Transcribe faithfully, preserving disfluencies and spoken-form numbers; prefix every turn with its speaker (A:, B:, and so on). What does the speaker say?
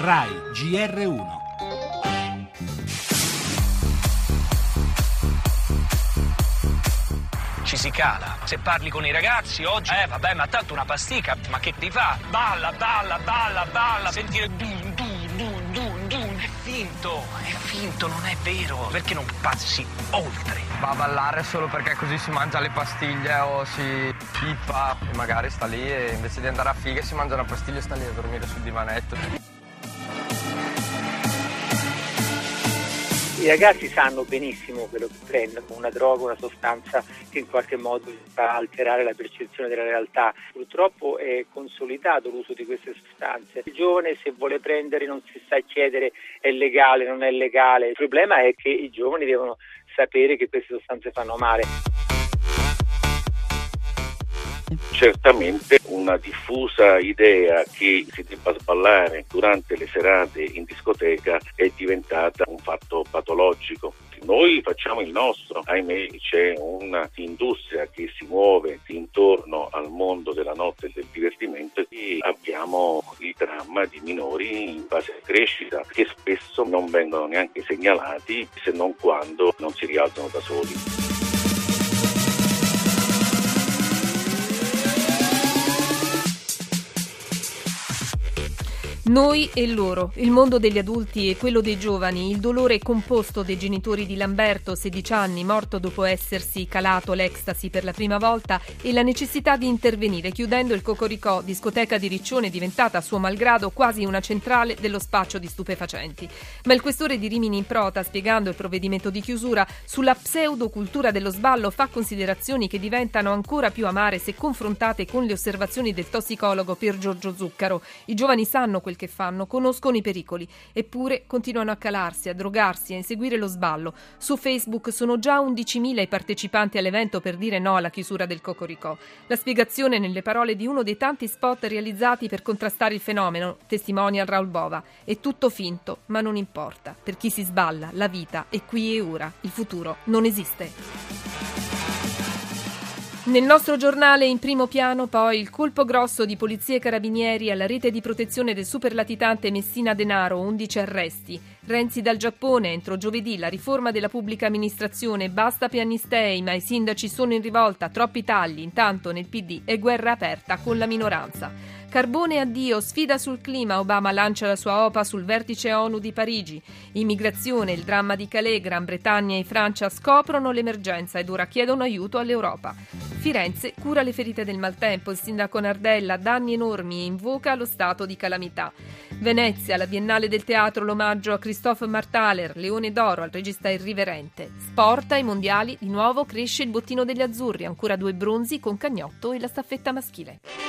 A: Rai G R uno.
B: Ci si cala. Se parli con i ragazzi oggi, eh vabbè, ma tanto una pasticca, ma che ti fa? Balla, balla, balla, balla, sentire dun, dun, dun, dun, dun. È finto, è finto, non è vero. Perché non passi oltre?
C: Va a ballare solo perché così si mangia le pastiglie o si pippa e magari sta lì e invece di andare a figa si mangia una pastiglia e sta lì a dormire sul divanetto.
D: I ragazzi sanno benissimo quello che prendono, una droga, una sostanza che in qualche modo fa alterare la percezione della realtà. Purtroppo è consolidato l'uso di queste sostanze. Il giovane, se vuole prendere, non si sa chiedere è legale, non è legale. Il problema è che i giovani devono sapere che queste sostanze fanno male.
E: Certamente una diffusa idea che si debba sballare durante le serate in discoteca è diventata un fatto patologico. Noi facciamo il nostro, ahimè c'è un'industria che si muove intorno al mondo della notte e del divertimento e abbiamo il dramma di minori in fase di crescita che spesso non vengono neanche segnalati se non quando non si rialzano da soli.
F: Noi e loro, il mondo degli adulti e quello dei giovani, il dolore composto dei genitori di Lamberto, sedici anni, morto dopo essersi calato l'ecstasy per la prima volta, e la necessità di intervenire chiudendo il Cocoricò, discoteca di Riccione diventata a suo malgrado quasi una centrale dello spaccio di stupefacenti. Ma il questore di Rimini in Prota, spiegando il provvedimento di chiusura, sulla pseudocultura dello sballo fa considerazioni che diventano ancora più amare se confrontate con le osservazioni del tossicologo Pier Giorgio Zuccaro. I giovani sanno quel che fanno, conoscono i pericoli, eppure continuano a calarsi, a drogarsi, a inseguire lo sballo. Su Facebook sono già undicimila i partecipanti all'evento per dire no alla chiusura del Cocoricò. La spiegazione nelle parole di uno dei tanti spot realizzati per contrastare il fenomeno, testimonial Raul Bova. È tutto finto, ma non importa. Per chi si sballa, la vita è qui e ora. Il futuro non esiste. Nel nostro giornale in primo piano poi il colpo grosso di polizia e carabinieri alla rete di protezione del superlatitante Messina Denaro, undici arresti. Renzi dal Giappone, entro giovedì la riforma della pubblica amministrazione, basta pianistei, ma i sindaci sono in rivolta, troppi tagli, intanto nel P D è guerra aperta con la minoranza. Carbone addio, sfida sul clima, Obama lancia la sua OPA sul vertice ONU di Parigi. Immigrazione, il dramma di Calais, Gran Bretagna e Francia scoprono l'emergenza ed ora chiedono aiuto all'Europa. Firenze cura le ferite del maltempo, il sindaco Nardella, danni enormi e invoca lo stato di calamità. Venezia, la Biennale del Teatro, l'omaggio a Christophe Martaler, Leone d'Oro al regista irriverente. Sport ai mondiali, di nuovo cresce il bottino degli azzurri, ancora due bronzi con Cagnotto e la staffetta maschile.